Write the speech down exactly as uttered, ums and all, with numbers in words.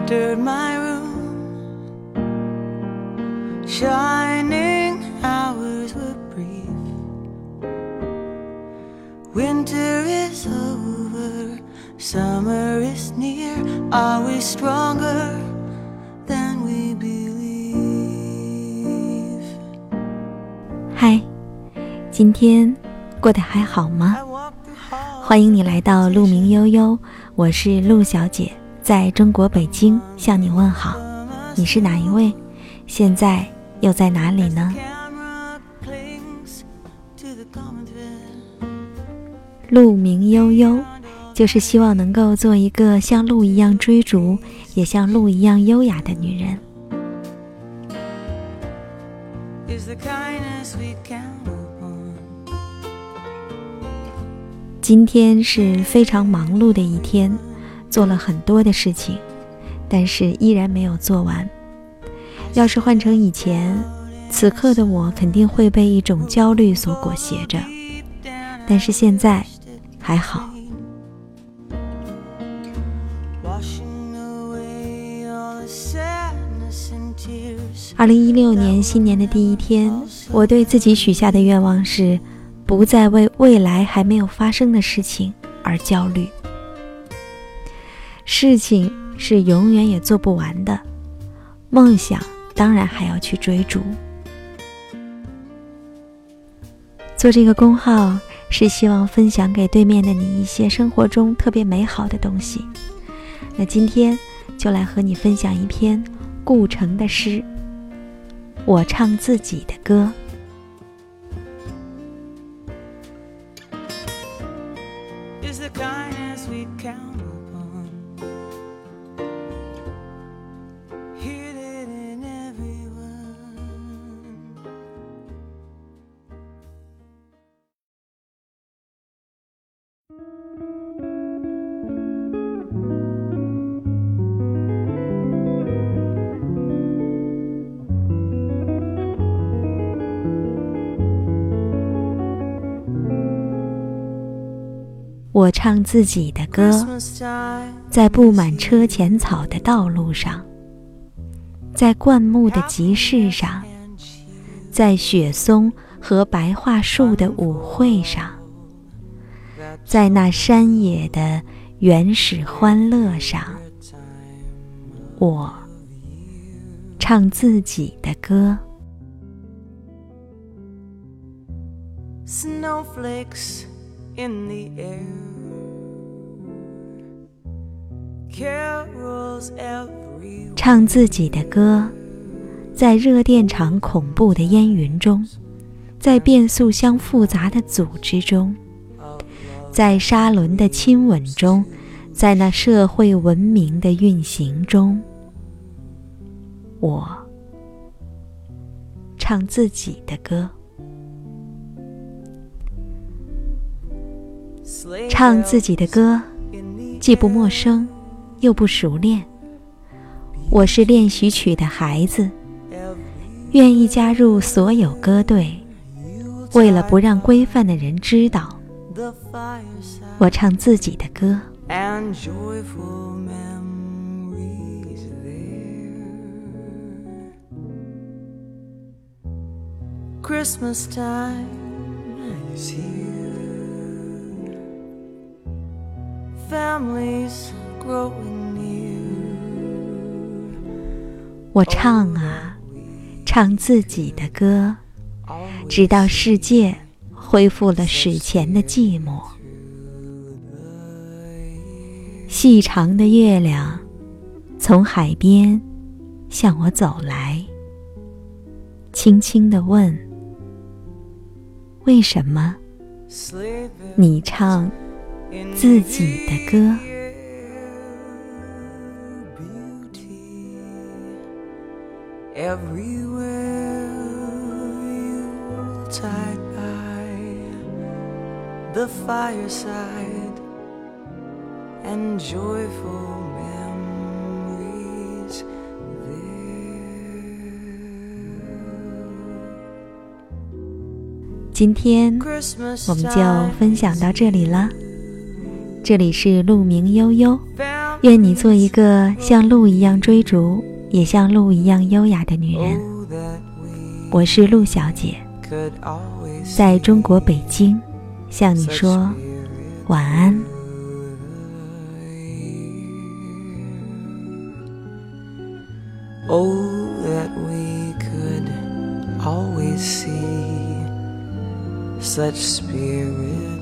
entered my room. Shining hours were brief. Winter is over, summer is near. Are we stronger than we believe? 嗨，今天过得还好吗？欢迎你来到鹿鸣悠悠，我是鹿小姐，在中国北京向你问好。你是哪一位？现在又在哪里呢？鹿鸣悠悠就是希望能够做一个像鹿一样追逐，也像鹿一样优雅的女人。今天是非常忙碌的一天，做了很多的事情，但是依然没有做完。要是换成以前，此刻的我肯定会被一种焦虑所裹挟着，但是现在还好。二零一六年新年的第一天，我对自己许下的愿望是不再为未来还没有发生的事情而焦虑。事情是永远也做不完的，梦想当然还要去追逐。做这个公号是希望分享给对面的你一些生活中特别美好的东西。那今天就来和你分享一篇顾城的诗，我唱自己的歌。我唱自己的歌，在布满车前草的道路上，在灌木的集市上，在雪松和白桦树的舞会上，在那山野的原始欢乐上，我唱自己的歌。 Snowflakes in the air, carols everywhere. 唱自己的歌，在热电场恐怖的烟云中，在变速箱复杂的组织中，在沙轮的亲吻中，在那社会文明的运行中，我唱自己的歌。唱自己的歌，既不陌生，又不熟练。我是练习曲的孩子，愿意加入所有歌队，为了不让规范的人知道，我唱自己的歌。 Christmas time is here.Families growing near. 我唱啊，唱自己的歌，直到世界恢复了史前的寂寞。细长的月亮从海边向我走来，轻轻地问：为什么你唱自己的歌 ？Everywhere you tide by the fireside and joyful memories there. 今天我们就分享到这里了。这里是鹿鸣悠悠， 愿你做一个像鹿一样追逐，也像鹿一样优雅的女人。我是陆小姐，在中国北京向你说晚安。 Oh, that we could always see such spirit